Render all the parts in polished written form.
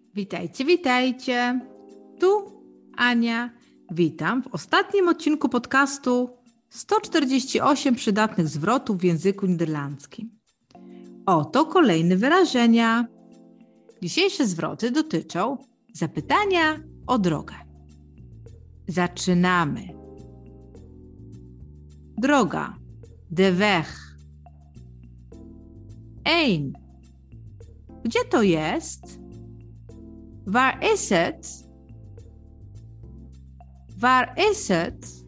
Witajcie, witajcie. Tu Ania. Witam w ostatnim odcinku podcastu 148 przydatnych zwrotów w języku niderlandzkim. Oto kolejne wyrażenia. Dzisiejsze zwroty dotyczą zapytania o drogę. Zaczynamy. Droga. De weg. 1. Gdzie to jest? Waar is het? Waar is het?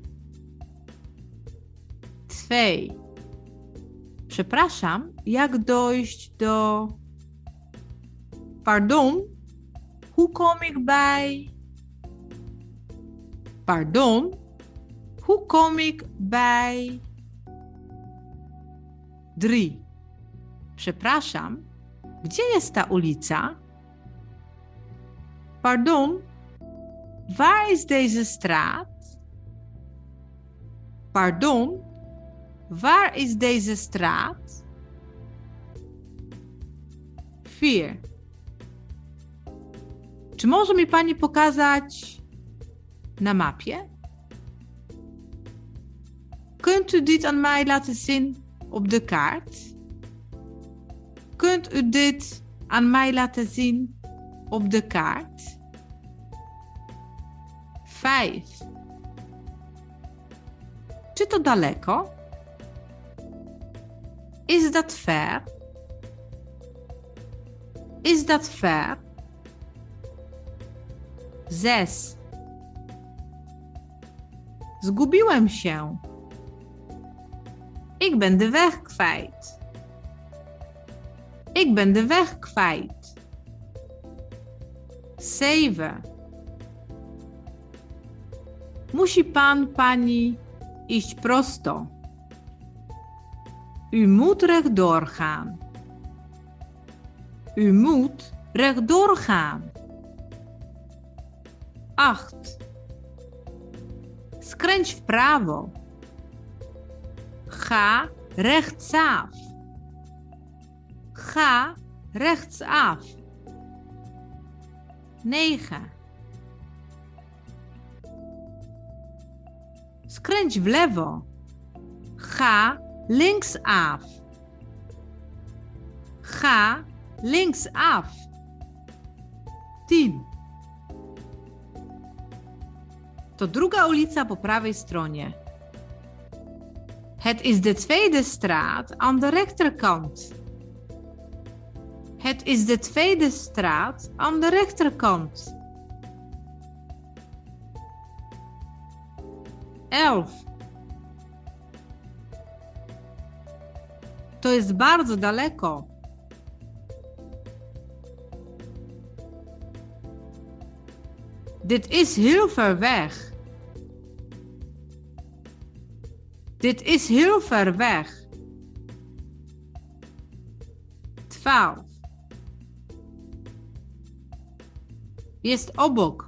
2. Przepraszam, jak dojść do... Pardon, hoe kom ik bij... Pardon, hoe kom ik bij... 3. Przepraszam, gdzie jest ta ulica? Pardon, waar is deze straat? Pardon, waar is deze straat? 4. Czy może mi pani pokazać na mapie? Kunt u dit aan mij laten zien op de kaart? Kunt u dit aan mij laten zien op de kaart? 5. Czy to daleko? Is dat ver? Is dat ver? 6. Zgubiłem się. Ik ben de weg kwijt. Ik ben de weg kwijt. 7. Musi pani iść prosto. U moet rechtdoor gaan. U moet rechtdoor gaan. 8. Skręć w prawo. Ga rechtsaf. Ga rechtsaf. 9. Skręć w lewo. Ga linksaf. Ga linksaf. 10. To druga ulica po prawej stronie. Het is de tweede straat aan de rechterkant. Het is de tweede straat aan de rechterkant. 11. To jest bardzo daleko. Dit is heel ver weg. Dit is heel ver weg. 12. Jest obok.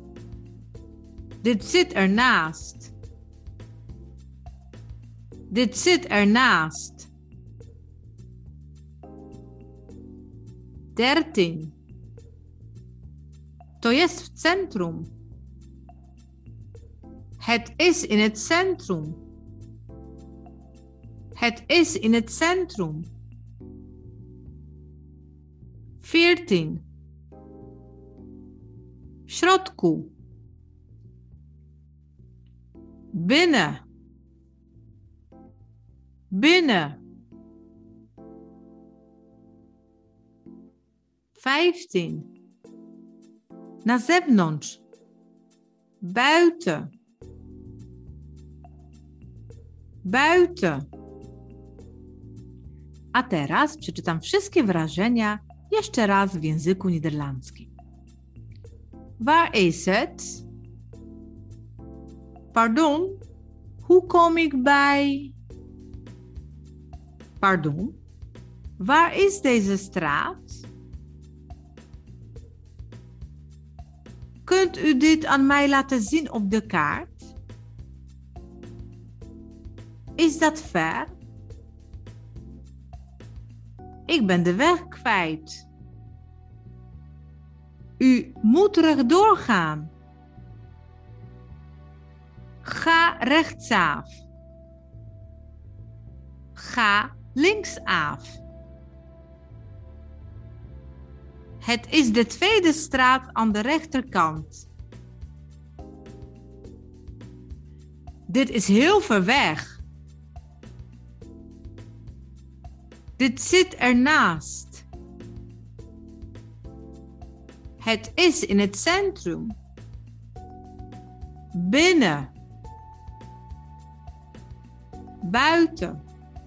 Dit zit ernaast. Dit zit ernaast. 13. To jest w centrum. Het is in het centrum. Het is in het centrum. 14. W środku. Binnen. Binnen. 15. Na zewnątrz. Buiten. Buiten. A teraz przeczytam wszystkie wyrażenia jeszcze raz w języku niderlandzkim. Waar is het? Pardon, hoe kom ik bij? Pardon, waar is deze straat? Kunt u dit aan mij laten zien op de kaart? Is dat ver? Ik ben de weg kwijt. U moet rechtdoor gaan. Ga rechtsaf. Ga linksaf. Het is de tweede straat aan de rechterkant. Dit is heel ver weg. Dit zit ernaast. Het is in het centrum. Binnen. Buiten.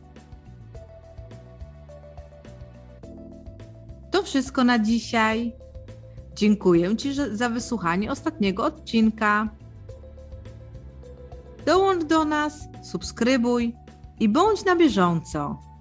To wszystko na dzisiaj. Dziękuję Ci za wysłuchanie ostatniego odcinka. Dołącz do nas, subskrybuj i bądź na bieżąco.